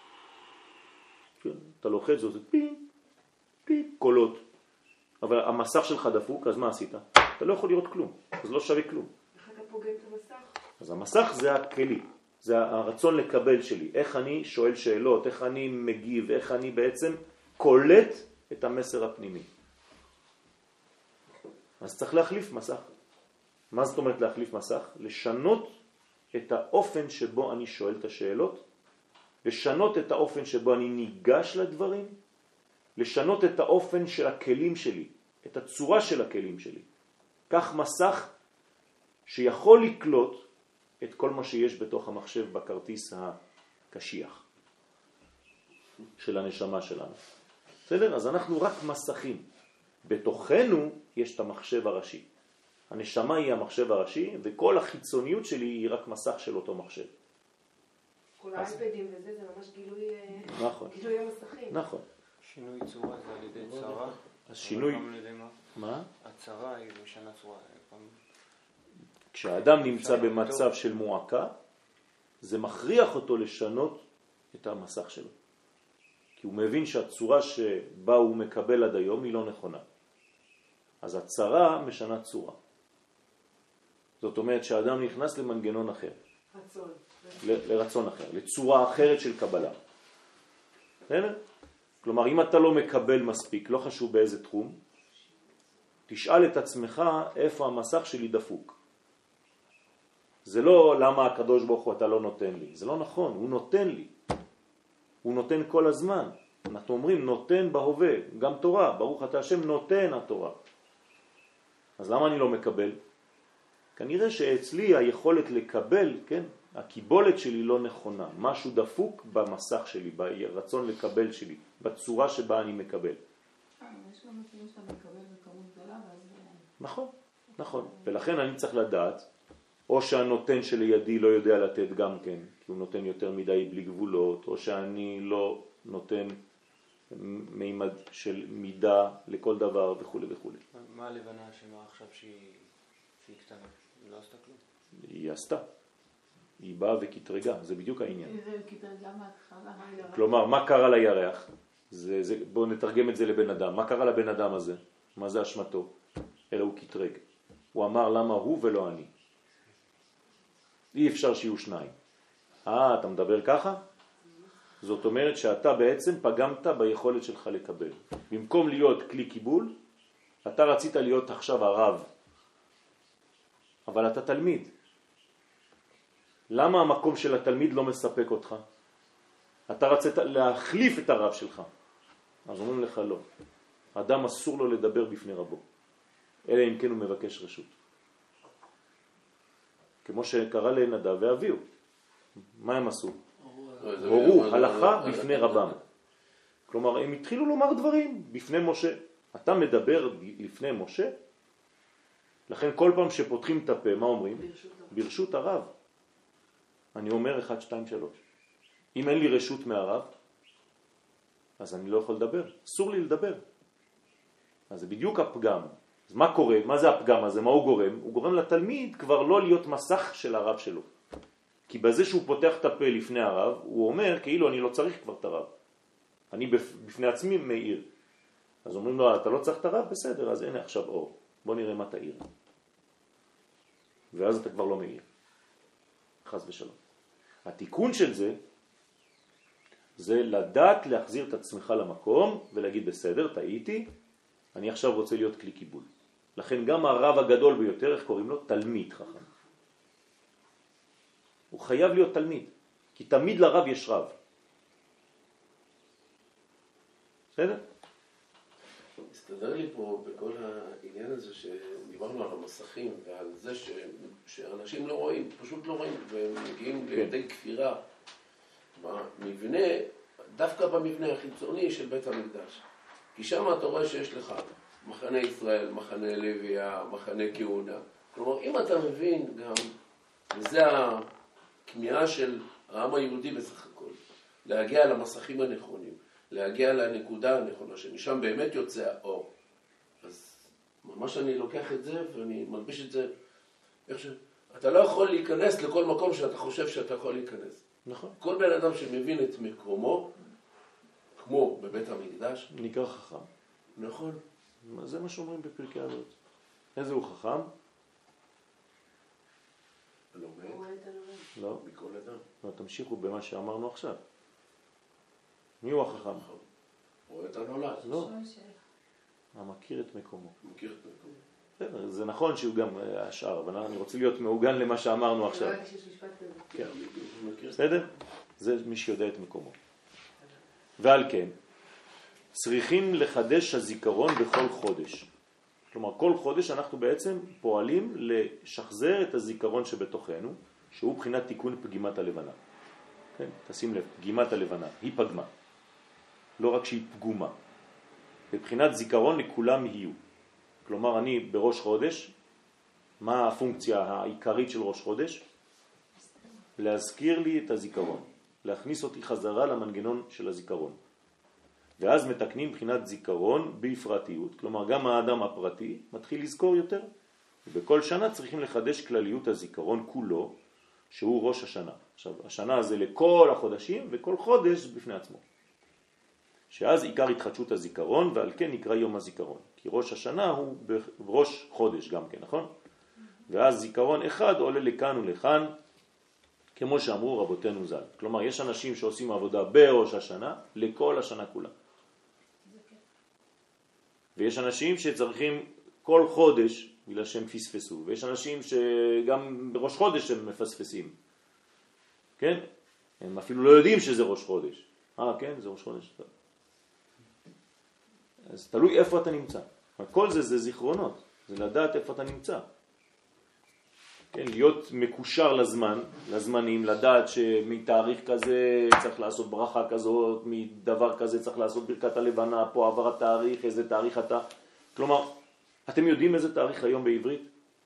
אתה לוחץ, זה עושה פי, פי, קולות. אבל המסך שלך דפוק, אז מה עשית? אתה לא יכול לראות כלום, אז לא שווה כלום. איך אתה פוגם את המסך? אז המסך זה הכלי, זה הרצון לקבל שלי. איך אני שואל שאלות, איך אני מגיב, איך אני בעצם קולט את המסר הפנימי. אז צריך להחליף מסך. מה זאת אומרת להחליף מסך? לשנות את האופן שבו אני שואל את השאלות, לשנות את האופן שבו אני ניגש לדברים, לשנות את האופן של הכלים שלי, את הצורה של הכלים שלי. כך מסך שיכול לקלוט את כל מה שיש בתוך המחשב בכרטיס הקשיח של הנשמה שלנו. בסדר? אז אנחנו רק מסכים. בתוכנו יש את המחשב הראשי. הנשמה היא המחשב הראשי, וכל החיצוניות שלי היא רק מסך של אותו מחשב. כל האייפדים וזה, זה ממש גילוי, נכון. גילוי המסכים. נכון. שינוי צורה זה על ידי צרה. אז שינוי... גם על ידי מה? מה? הצרה היא משנה צורה. כשהאדם נמצא במצב של מועקה, זה מכריח אותו לשנות את המסך שלו. כי הוא מבין שהצורה שבה הוא מקבל עד היום היא לא נכונה. אז הצרה משנה צורה. זאת אומרת שהאדם נכנס למנגנון אחר. רצון. ל- לרצון אחר, לצורה אחרת של קבלה. כלומר, אם אתה לא מקבל מספיק, לא חשוב באיזה תחום, תשאל את עצמך איפה המסך שלי דפוק. זה לא למה הקדוש ברוך הוא אתה לא נותן לי. זה לא נכון, הוא נותן לי. הוא נותן כל הזמן. אנחנו אומרים נותן בהווה, גם תורה, ברוך אתה השם נותן התורה. אז למה אני לא מקבל? כנראה שאצלי היכולת לקבל, כן, הקיבולת שלי לא נכונה. משהו דפוק במסך שלי, ברצון לקבל שלי, בצורה שבה אני מקבל. יש גם אפילו שאתה מקבל בכמות גדולה, ואז... נכון. נכון, ולכן אני צריך לדעת, או שהנותן שלידי לא יודע לתת גם כן, כי הוא נותן יותר מדי בלי גבולות, או שאני לא נותן מימד של מידה לכל דבר וכו' וכו'. מה הלבנה שאמרה עכשיו שהיא שהיא קטנה? היא לא עשתה כלום. היא עשתה. היא באה וכתרגה, זה בדיוק העניין. זה כתרגה מההתחלה, הירח. כלומר, מה קרה לירח? זה, זה, בואו נתרגם את זה לבן אדם. מה קרה לבן אדם הזה? מה זה אשמתו? אלא הוא כתרג. הוא אמר למה הוא ולא אני. אי אפשר שיהיו שניים. אה, אתה מדבר ככה? זאת אומרת שאתה בעצם פגמת ביכולת שלך לקבל. במקום להיות כלי קיבול, אתה רצית להיות עכשיו הרב. אבל אתה תלמיד. למה המקום של התלמיד לא מספק אותך? אתה רצית להחליף את הרב שלך. אז אומרים לך לא. אדם אסור לו לדבר בפני רבו. אלא אם כן הוא מבקש רשות. כמו שקרה לנדב ואביהו. מה הם עשו? הורו הלכה בפני רבם. כלומר, הם התחילו לומר דברים בפני משה. אתה מדבר לפני משה? לכן כל פעם שפותחים את הפה, מה אומרים? ברשות הרב. אני אומר אחד, שתיים, שלוש. אם אין לי רשות מהרב, אז אני לא יכול לדבר. אסור לי לדבר. אז זה בדיוק הפגם. אז מה קורה? מה זה הפגם הזה? מה הוא גורם? הוא גורם לתלמיד כבר לא להיות מסך של הרב שלו. כי בזה שהוא פותח את הפה לפני הרב, הוא אומר כאילו אני לא צריך כבר את הרב. אני בפני עצמי מאיר. אז אומרים לו, אתה לא צריך את הרב? בסדר, אז הנה עכשיו אור. בוא נראה מה תאיר. ואז אתה כבר לא מאיר. חס ושלום. התיקון של זה, זה לדעת להחזיר את עצמך למקום ולהגיד בסדר, טעיתי, אני עכשיו רוצה להיות כלי קיבול. לכן גם הרב הגדול ביותר, איך קוראים לו? תלמיד חכם. הוא חייב להיות תלמיד, כי תמיד לרב יש רב. בסדר? הסתדר לי פה בכל העניין הזה שדיברנו על המסכים ועל זה ש... שאנשים לא רואים, פשוט לא רואים, והם מגיעים כן. לידי כפירה במבנה, דווקא במבנה החיצוני של בית המקדש. כי שם אתה רואה שיש לך מחנה ישראל, מחנה לוויה, מחנה כהונה. כלומר, אם אתה מבין גם, וזה הכמיהה של העם היהודי בסך הכל, להגיע למסכים הנכונים, להגיע לנקודה הנכונה, שמשם באמת יוצא האור. אז ממש אני לוקח את זה ואני מלביש את זה, איך ש... אתה לא יכול להיכנס לכל מקום שאתה חושב שאתה יכול להיכנס. נכון. כל בן אדם שמבין את מקומו, כמו בבית המקדש, נקרא חכם. נכון. זה מה שאומרים בפרקי הזאת. איזה הוא חכם? לומד. לא. מכל אדם. לא, תמשיכו במה שאמרנו עכשיו. מי הוא החכם? רואה את הנולד. לא. המכיר את מקומו. מכיר את מקומו. בסדר, זה נכון שהוא גם השאר, אבל אני רוצה להיות מעוגן למה שאמרנו עכשיו. בסדר? זה מי שיודע את מקומו. ועל כן, צריכים לחדש הזיכרון בכל חודש. כלומר, כל חודש אנחנו בעצם פועלים לשחזר את הזיכרון שבתוכנו, שהוא בחינת תיקון פגימת הלבנה. כן? תשים לב, פגימת הלבנה, היא פגמה. לא רק שהיא פגומה. בבחינת זיכרון לכולם יהיו. כלומר, אני בראש חודש, מה הפונקציה העיקרית של ראש חודש? להזכיר לי את הזיכרון. להכניס אותי חזרה למנגנון של הזיכרון. ואז מתקנים בחינת זיכרון בפרטיות. כלומר, גם האדם הפרטי מתחיל לזכור יותר. ובכל שנה צריכים לחדש כלליות הזיכרון כולו, שהוא ראש השנה. עכשיו, השנה זה לכל החודשים, וכל חודש בפני עצמו. שאז עיקר התחדשות הזיכרון, ועל כן נקרא יום הזיכרון. כי ראש השנה הוא בראש חודש גם כן, נכון? ואז זיכרון אחד עולה לכאן ולכאן, כמו שאמרו רבותינו ז"ל. כלומר, יש אנשים שעושים עבודה בראש השנה, לכל השנה כולה. ויש אנשים שצריכים כל חודש, בגלל שהם פספסו. ויש אנשים שגם בראש חודש הם מפספסים. כן? הם אפילו לא יודעים שזה ראש חודש. אה, כן? זה ראש חודש. אז תלוי איפה אתה נמצא. כל זה זה זיכרונות. זה לדעת איפה אתה נמצא. כן, להיות מקושר לזמן, לזמנים, לדעת שמתאריך כזה צריך לעשות ברכה כזאת, מדבר כזה צריך לעשות ברכת הלבנה, פה עבר התאריך, איזה תאריך אתה. כלומר, אתם יודעים איזה תאריך היום בעברית?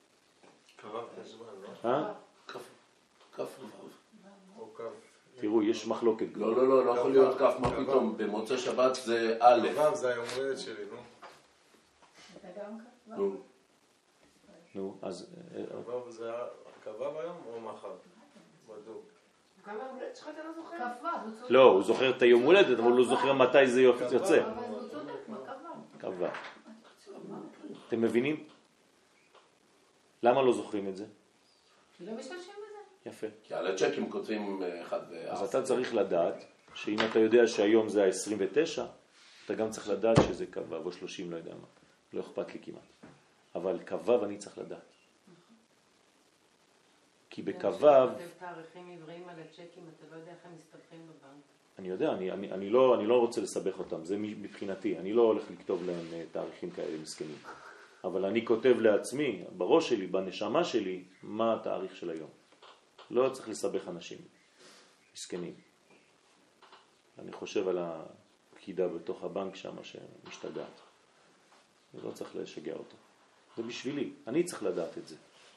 קרב חשבון, לא? אה? כף כף רבב. או קו. תראו, יש מחלוקת. לא, לא, לא, לא יכול להיות כף, מה פתאום? במוצאי שבת זה א'. קרב זה היום הולדת שלי, נו. אתה גם ככה? נו. נו, אז... קרב זה קרב היום או מחר? בדוק. כמה הולדת שלך אתה לא זוכר? כ"ו, הוא צודק. לא, הוא זוכר את היום הולדת, אבל הוא זוכר מתי זה יוצא. אבל הוא צודק, מה כ"ו? כ"ו. אתם מבינים? למה לא זוכרים את זה? כי לא משתמשים בזה. יפה. כי על הצ'קים כותבים אחד ואף. אז אתה צריך לדעת שאם אתה יודע שהיום זה ה-עשרים ותשע, אתה גם צריך לדעת שזה כ"ו או שלושים, לא יודע מה. לא אכפת לי כמעט. אבל כ"ו אני צריך לדעת. כי בכ"ו... כותב תאריכים עבריים על הצ'קים, אתה לא יודע איך הם מסתבכים בבנק. אני יודע, אני, אני, אני, לא, אני לא רוצה לסבך אותם, זה מבחינתי, אני לא הולך לכתוב להם תאריכים כאלה מסכנים. אבל אני כותב לעצמי, בראש שלי, בנשמה שלי, מה התאריך של היום. לא צריך לסבך אנשים מסכנים. אני חושב על הפקידה בתוך הבנק שם שמשתגעת. אני לא צריך לשגע אותו. זה בשבילי, אני צריך לדעת את זה.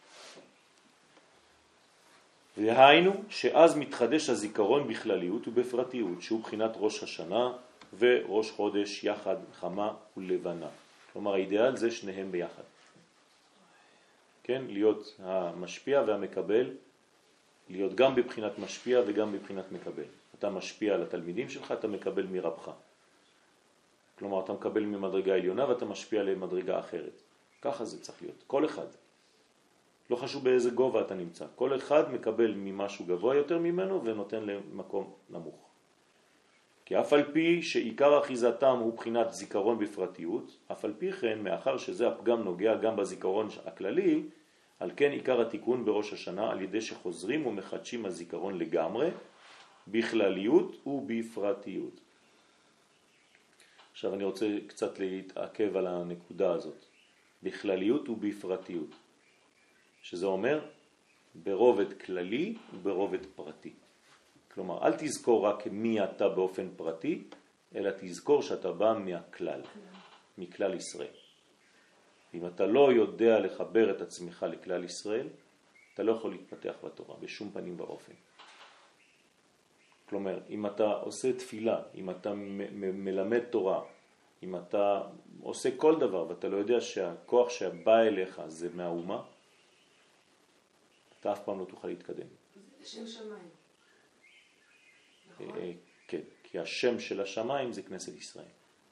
והיינו שאז מתחדש הזיכרון בכלליות ובפרטיות, שהוא בחינת ראש השנה וראש חודש יחד, חמה ולבנה. כלומר, האידאל זה שניהם ביחד. כן? להיות המשפיע והמקבל, להיות גם בבחינת משפיע וגם בבחינת מקבל. אתה משפיע על התלמידים שלך, אתה מקבל מרבך. כלומר, אתה מקבל ממדרגה עליונה ואתה משפיע למדרגה אחרת. ככה זה צריך להיות. כל אחד. לא חשוב באיזה גובה אתה נמצא. כל אחד מקבל ממשהו גבוה יותר ממנו ונותן למקום נמוך. כי אף על פי שעיקר אחיזתם הוא בחינת זיכרון בפרטיות, אף על פי כן, מאחר שזה הפגם נוגע גם בזיכרון הכללי, על כן עיקר התיקון בראש השנה על ידי שחוזרים ומחדשים הזיכרון לגמרי, בכלליות ובפרטיות. עכשיו אני רוצה קצת להתעכב על הנקודה הזאת. בכלליות ובפרטיות. שזה אומר ברובד כללי וברובד פרטי. כלומר, אל תזכור רק מי אתה באופן פרטי, אלא תזכור שאתה בא מהכלל, מכלל ישראל. אם אתה לא יודע לחבר את עצמך לכלל ישראל, אתה לא יכול להתפתח בתורה, בשום פנים ואופן. כלומר, אם אתה עושה תפילה, אם אתה מלמד תורה, אם אתה עושה כל דבר ואתה לא יודע שהכוח שבא אליך זה מהאומה, אתה אף פעם לא תוכל להתקדם. זה שם שמיים. נכון? כן, כי השם של השמיים זה כנסת ישראל.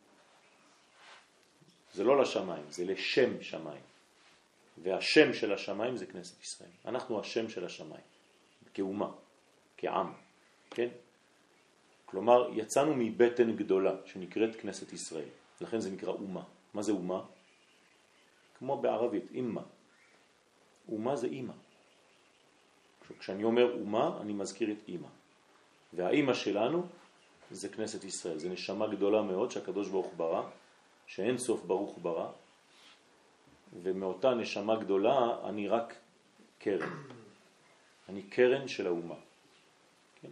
זה לא לשמיים, זה לשם שמיים. והשם של השמיים זה כנסת ישראל. אנחנו השם של השמיים, כאומה, כעם, כן? כלומר, יצאנו מבטן גדולה שנקראת כנסת ישראל. לכן זה נקרא אומה. מה זה אומה? כמו בערבית, אימא. אומה זה אימא. כשאני אומר אומה, אני מזכיר את אימא. והאימא שלנו זה כנסת ישראל. זה נשמה גדולה מאוד שהקדוש ברוך ברא, שאין סוף ברוך ברא, ומאותה נשמה גדולה אני רק קרן. אני קרן של האומה. כן?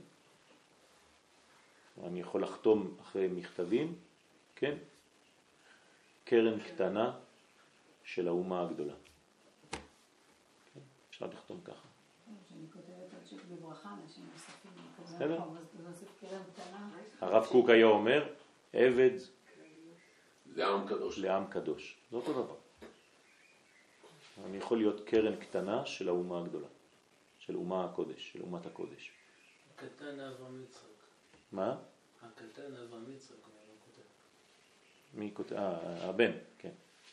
אני יכול לחתום אחרי מכתבים, כן? קרן קטנה של האומה הגדולה. כן? אפשר לכתום ככה. שאני כותבת עוד צ'ק בברכה, אנשים נוספים, בסדר. אז נוסיף קרן קטנה. הרב קוק היה אומר, עבד לעם קדוש. לעם קדוש. זה אותו דבר. אני יכול להיות קרן קטנה של האומה הגדולה, של אומה הקודש, של אומת הקודש. הקטן אברהם יצחק. מה? הקטן אברהם יצחק, אני לא כותב. מי כותב? אה, הבן, כן.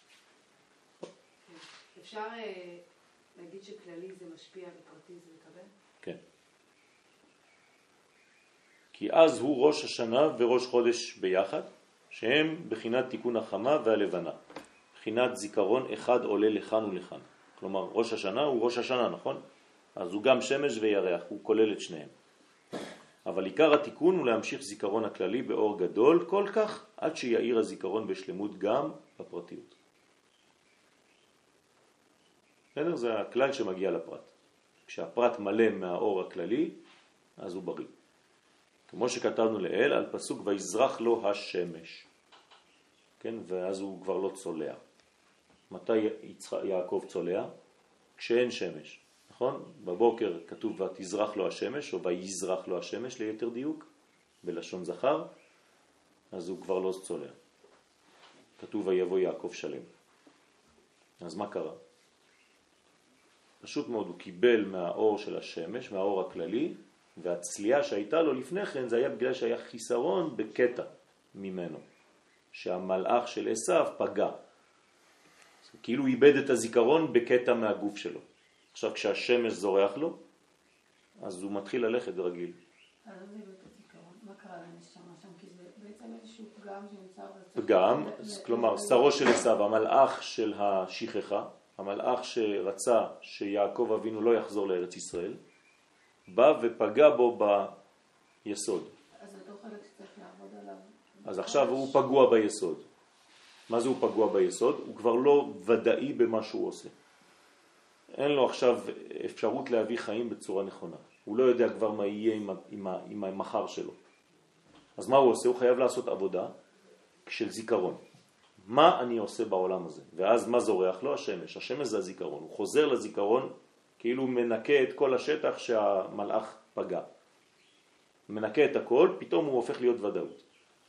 אפשר אה, להגיד שכללי זה משפיע ופרטי זה מקבל? כן. כי אז הוא ראש השנה וראש חודש ביחד, שהם בחינת תיקון החמה והלבנה. בחינת זיכרון אחד עולה לכאן ולכאן. כלומר, ראש השנה הוא ראש השנה, נכון? אז הוא גם שמש וירח, הוא כולל את שניהם. אבל עיקר התיקון הוא להמשיך זיכרון הכללי באור גדול כל כך, עד שיעיר הזיכרון בשלמות גם בפרטיות. בסדר? זה הכלל שמגיע לפרט. כשהפרט מלא מהאור הכללי, אז הוא בריא. כמו שכתבנו לאל, על פסוק ויזרח לו השמש. כן? ואז הוא כבר לא צולע. מתי יעקב צולע? כשאין שמש, נכון? בבוקר כתוב ותזרח לו השמש, או ויזרח לו השמש ליתר דיוק, בלשון זכר, אז הוא כבר לא צולע. כתוב ויבוא יעקב שלם. אז מה קרה? פשוט מאוד, הוא קיבל מהאור של השמש, מהאור הכללי, והצליעה שהייתה לו לפני כן, זה היה בגלל שהיה חיסרון בקטע ממנו, שהמלאך של עשיו פגע. כאילו הוא איבד את הזיכרון בקטע מהגוף שלו. עכשיו כשהשמש זורח לו, אז הוא מתחיל ללכת רגיל. אז זה איבד את הזיכרון, מה קרה לנשמה שם? כי זה בעצם איזשהו פגם שנמצא... פגם, כלומר, שרו של עשיו, המלאך של השכחה, המלאך שרצה שיעקב אבינו לא יחזור לארץ ישראל, בא ופגע בו ביסוד. אז אותו חלק שצריך לעבוד עליו. אז עכשיו הוא פגוע ביסוד. מה זה הוא פגוע ביסוד? הוא כבר לא ודאי במה שהוא עושה. אין לו עכשיו אפשרות להביא חיים בצורה נכונה. הוא לא יודע כבר מה יהיה עם, עם, עם המחר שלו. אז מה הוא עושה? הוא חייב לעשות עבודה של זיכרון. מה אני עושה בעולם הזה? ואז מה זורח לו? השמש. השמש זה הזיכרון. הוא חוזר לזיכרון כאילו הוא מנקה את כל השטח שהמלאך פגע. מנקה את הכל, פתאום הוא הופך להיות ודאות.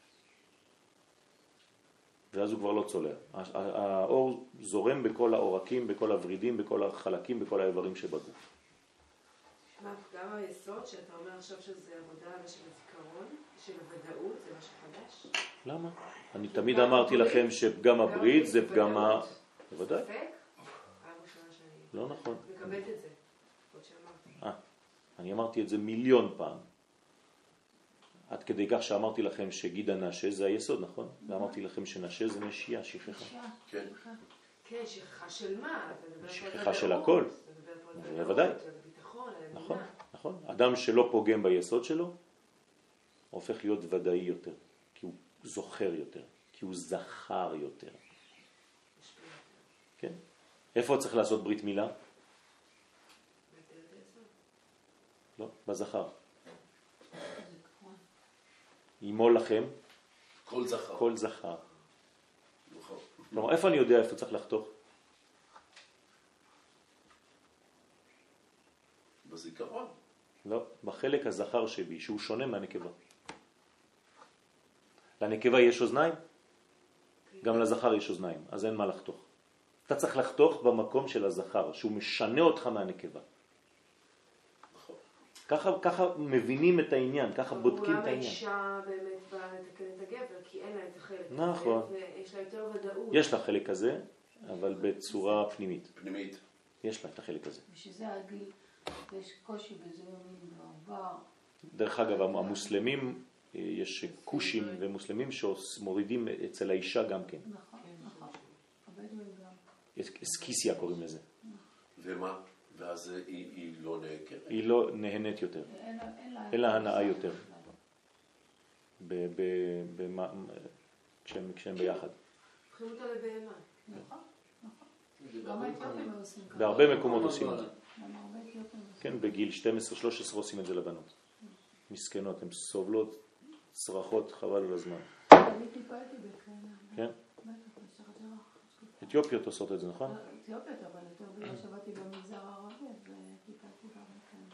ואז הוא כבר לא צולע. האור זורם בכל העורקים, בכל הורידים, בכל החלקים, בכל האיברים שבגוף. מה, גם היסוד שאתה אומר עכשיו שזה עבודה של הזיכרון, של הוודאות, זה משהו חדש? למה? אני תמיד אמרתי לכם שפגם הברית זה פגם ה... בוודאי. ספק? פעם ראשונה שאני... לא נכון. מקבלת את זה. עוד שאמרתי. אה, אני אמרתי את זה מיליון פעם. עד כדי כך שאמרתי לכם שגיד הנשה זה היסוד, נכון? ואמרתי לכם שנשה זה נשייה, שכחה. כן. כן, שכחה של מה? שכחה של הכל. בוודאי. נכון, נכון. אדם שלא פוגם ביסוד שלו, הופך להיות ודאי יותר, כי הוא זוכר יותר, כי הוא זכר יותר. כן? איפה צריך לעשות ברית מילה? לא, בזכר. ימול לכם כל זכר. כל זכר. נכון. כלומר, איפה אני יודע איפה צריך לחתוך? בזיכרון. לא, בחלק הזכר שבי, שהוא שונה מהנקבה. לנקבה יש אוזניים, גם לזכר יש אוזניים, אז אין מה לחתוך. אתה צריך לחתוך במקום של הזכר, שהוא משנה אותך מהנקבה. נכון. ככה, ככה מבינים את העניין, ככה בודקים את אולי העניין. האישה באמת באה לתקן את הגבר, כי אין לה את החלק הזה, נכון. ויש לה יותר ודאות. יש לה חלק כזה, אבל בצורה פנימית. פנימית. יש לה את החלק הזה. ושזה הגיל, יש קושי בזיונים בעבר. דרך אגב, המוסלמים, יש קושים ומוסלמים שמורידים אצל האישה גם כן. נכון, נכון. הבדואים גם. סקיסיה קוראים לזה. ומה? ואז היא, היא לא נעקרת. היא לא נהנית יותר. אין לה- אין לה- אין לה הנאה יותר. ב- ב- במה- כשהם כשהם ביחד. הופכים אותה לבהמה. נכון, נכון. גם האתיופים עושים ככה. בהרבה מקומות עושים את זה. גם הרבה אתיופים עושים. כן, בגיל שתים עשרה שלוש עשרה עושים את זה לבנות. מסכנות, הן סובלות צרחות חבל על הזמן. אני טיפלתי בכאלה. כן? בטח, בשחת ירח. אתיופיות עושות את זה, נכון? אתיופיות, אבל יותר בגלל שבאתי במגזר הערבי, וטיפלתי גם בכאלה.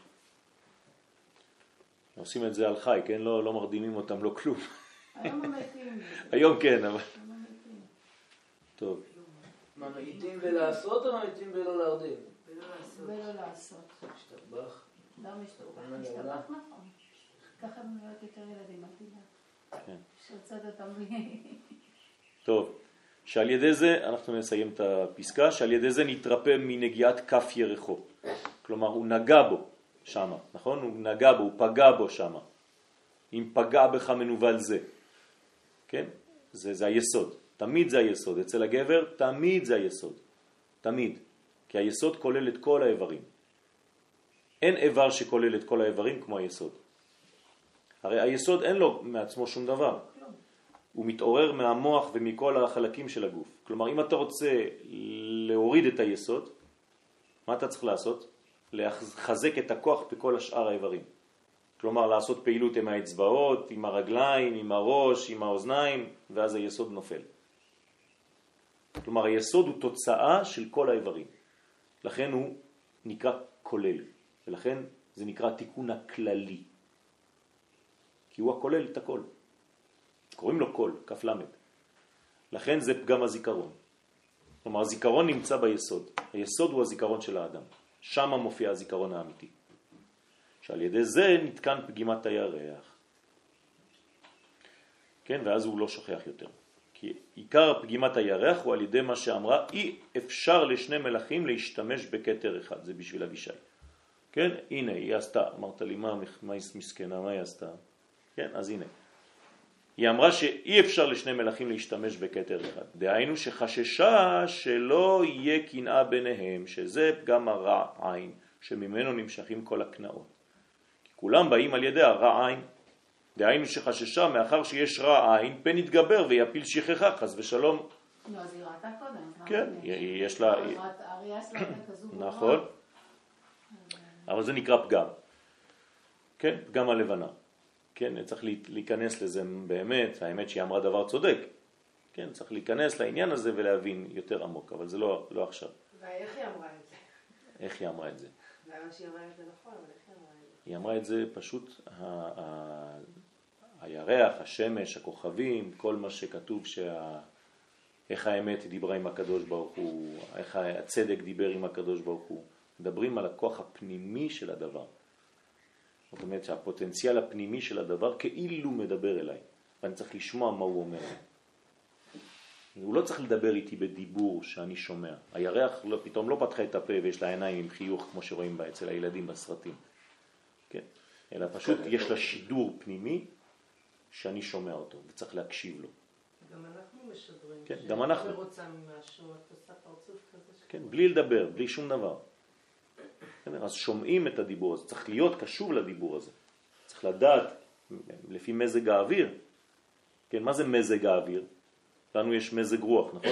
עושים את זה על חי, כן? לא, לא מרדימים אותם, לא כלום. היום המתים. היום כן, אבל... היום המתים. טוב. מה, מעיטים בלעשות או מעיטים בלא להרדים? ולא לעשות. ולא לעשות. השתבח. לא משתבח, משתבח נכון. ככה הם נראות יותר ילדים, אל תדע. כן. שרצת אותם. טוב. שעל ידי זה, אנחנו נסיים את הפסקה, שעל ידי זה נתרפא מנגיעת כף ירחו. כלומר, הוא נגע בו שם, נכון? הוא נגע בו, הוא פגע בו שם. אם פגע בך מנובל זה. כן? זה, זה היסוד. תמיד זה היסוד. אצל הגבר, תמיד זה היסוד. תמיד. כי היסוד כולל את כל האיברים. אין איבר שכולל את כל האיברים כמו היסוד. הרי היסוד אין לו מעצמו שום דבר. הוא מתעורר מהמוח ומכל החלקים של הגוף. כלומר, אם אתה רוצה להוריד את היסוד, מה אתה צריך לעשות? לחזק את הכוח בכל השאר האיברים. כלומר, לעשות פעילות עם האצבעות, עם הרגליים, עם הראש, עם האוזניים, ואז היסוד נופל. כלומר, היסוד הוא תוצאה של כל האיברים. לכן הוא נקרא כולל, ולכן זה נקרא תיקון הכללי, כי הוא הכולל את הכל, קוראים לו כל, כף למד, לכן זה פגם הזיכרון. כלומר הזיכרון נמצא ביסוד, היסוד הוא הזיכרון של האדם, שם מופיע הזיכרון האמיתי, שעל ידי זה נתקן פגימת הירח, כן, ואז הוא לא שוכח יותר. כי עיקר פגימת הירח הוא על ידי מה שאמרה, אי אפשר לשני מלאכים להשתמש בכתר אחד, זה בשביל אבישי. כן, הנה, היא עשתה, אמרת לי, מה, מה היא מסכנה, מה היא עשתה? כן, אז הנה. היא אמרה שאי אפשר לשני מלאכים להשתמש בכתר אחד. דהיינו שחששה שלא יהיה קנאה ביניהם, שזה פגם הרע עין, שממנו נמשכים כל הקנאות. כי כולם באים על ידי הרע עין. דהיינו שחששה מאחר שיש רע עין, פן יתגבר ויפיל שכחה, חס ושלום. לא, אז היא ראתה קודם. כן, יש לה... הראייה שלה כזו ברורה. נכון. אבל זה נקרא פגם. כן, פגם הלבנה. כן, צריך להיכנס לזה באמת, האמת שהיא אמרה דבר צודק. כן, צריך להיכנס לעניין הזה ולהבין יותר עמוק, אבל זה לא, לא עכשיו. ואיך היא אמרה את זה? איך היא אמרה את זה? למה שהיא אמרה את זה נכון, אבל איך היא אמרה את זה? היא אמרה את זה פשוט, ה- ה- הירח, השמש, הכוכבים, כל מה שכתוב שה... איך האמת דיברה עם הקדוש ברוך הוא, איך הצדק דיבר עם הקדוש ברוך הוא. מדברים על הכוח הפנימי של הדבר. זאת אומרת שהפוטנציאל הפנימי של הדבר כאילו מדבר אליי, ואני צריך לשמוע מה הוא אומר. הוא לא צריך לדבר איתי בדיבור שאני שומע. הירח לא, פתאום לא פתחה את הפה ויש לה עיניים עם חיוך כמו שרואים בה אצל הילדים בסרטים. כן? אלא פשוט יש לה שידור פנימי שאני שומע אותו וצריך להקשיב לו. גם אנחנו משדרים. כן, גם אנחנו. כשאתה רוצה ממשהו, את עושה פרצוף כזה. כן, בלי לדבר, בלי שום דבר. אז שומעים את הדיבור הזה, צריך להיות קשוב לדיבור הזה. צריך לדעת לפי מזג האוויר. כן, מה זה מזג האוויר? לנו יש מזג רוח, נכון?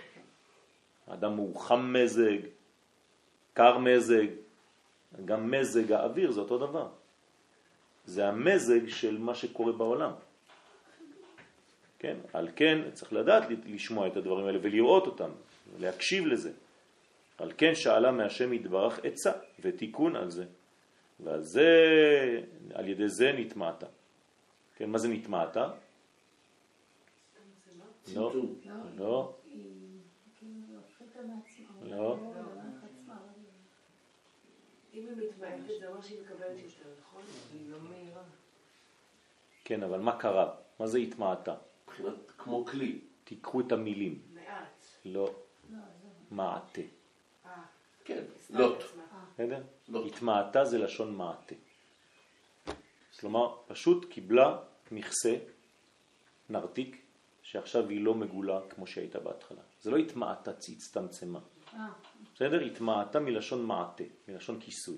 האדם הוא חם מזג, קר מזג, גם מזג האוויר זה אותו דבר. זה המזג של מה שקורה בעולם. כן, על כן צריך לדעת לשמוע את הדברים האלה ולראות אותם, להקשיב לזה. על כן שאלה מהשם יתברך עצה ותיקון על זה. ועל זה, על ידי זה נתמעתה. כן, מה זה נתמעתה? לא, לא, לא. אם היא מתמעטת זה אומר שהיא מקבלת יותר, נכון? היא לא מהירה. כן, אבל מה קרה? מה זה התמעטה? מבחינת כמו כלי. תיקחו את המילים. מעט. לא, מעטה. כן, לוט. בסדר? התמעטה זה לשון מעטה. כלומר, פשוט קיבלה מכסה, נרתיק, שעכשיו היא לא מגולה כמו שהייתה בהתחלה. זה לא התמעטה, הצטמצמה. בסדר? התמעטה מלשון מעטה, מלשון כיסוי.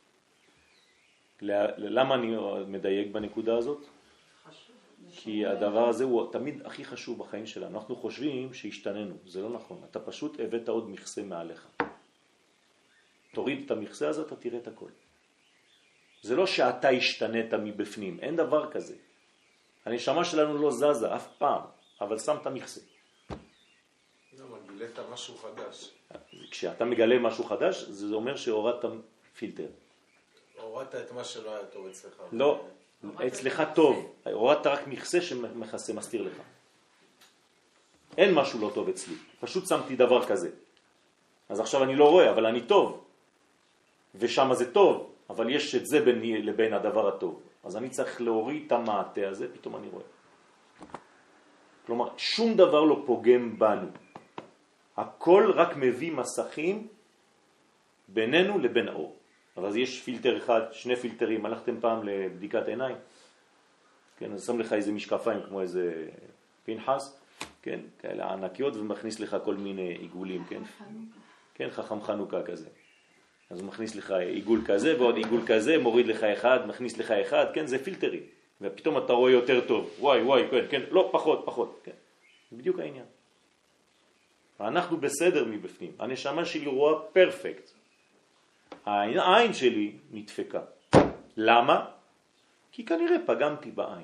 למה אני מדייק בנקודה הזאת? כי הדבר הזה הוא תמיד הכי חשוב בחיים שלנו. אנחנו חושבים שהשתננו, זה לא נכון. אתה פשוט הבאת עוד מכסה מעליך. תוריד את המכסה הזה, אתה תראה את הכל. זה לא שאתה השתנית מבפנים, אין דבר כזה. הנשמה שלנו לא זזה אף פעם, אבל שמת מכסה. למה, גילית משהו חדש. כשאתה מגלה משהו חדש, זה אומר שהורדת פילטר. הורדת את מה שלא היה טוב אצלך. לא, אצלך טוב. הורדת רק מכסה שמכסה, מסתיר לך. אין משהו לא טוב אצלי. פשוט שמתי דבר כזה. אז עכשיו אני לא רואה, אבל אני טוב. ושם זה טוב, אבל יש את זה ביני לבין הדבר הטוב. אז אני צריך להוריד את המעטה הזה, פתאום אני רואה. כלומר, שום דבר לא פוגם בנו. הכל רק מביא מסכים בינינו לבין האור. אבל יש פילטר אחד, שני פילטרים. הלכתם פעם לבדיקת עיניים? כן, אז שם לך איזה משקפיים כמו איזה פנחס, כן, כאלה ענקיות, ומכניס לך כל מיני עיגולים, כן? כן, חכם חנוכה כזה. אז הוא מכניס לך עיגול כזה ועוד עיגול כזה, מוריד לך אחד, מכניס לך אחד, כן, זה פילטרים. ופתאום אתה רואה יותר טוב. וואי, וואי, כן, כן, לא, פחות, פחות, כן. זה בדיוק העניין. אנחנו בסדר מבפנים. הנשמה שלי רואה פרפקט. העין שלי נדפקה. למה? כי כנראה פגמתי בעין.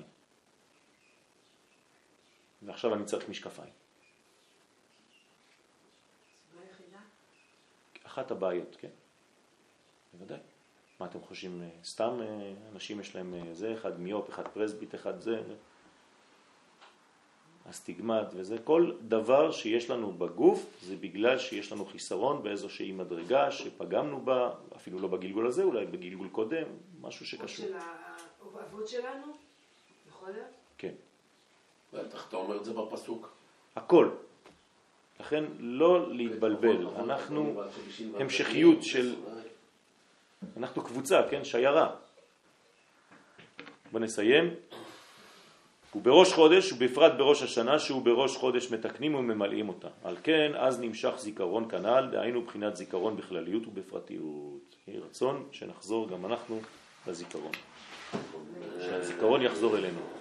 ועכשיו אני צריך משקפיים. אחת הבעיות, כן. בוודאי. מה אתם חושבים? סתם אנשים יש להם זה, אחד מיופ, אחד פרסבית, אחד זה, הסטיגמט וזה. כל דבר שיש לנו בגוף זה בגלל שיש לנו חיסרון באיזושהי מדרגה שפגמנו בה, אפילו לא בגלגול הזה, אולי בגלגול קודם, משהו שקשור. של האבות שלנו? יכול להיות? כן. בטח, אתה אומר את זה בפסוק. הכל. לכן לא להתבלבל. אנחנו המשכיות של... אנחנו קבוצה, כן? שיירה. בוא נסיים. ובראש חודש, ובפרט בראש השנה, שהוא בראש חודש מתקנים וממלאים אותה. על כן, אז נמשך זיכרון כנ"ל, דהיינו בחינת זיכרון בכלליות ובפרטיות. יהי רצון שנחזור גם אנחנו לזיכרון. שהזיכרון יחזור אלינו.